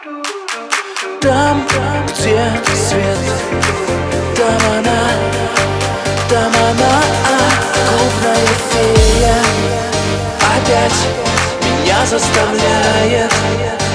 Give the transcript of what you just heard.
Там, где свет, там она, клубная фея. Опять меня заставляет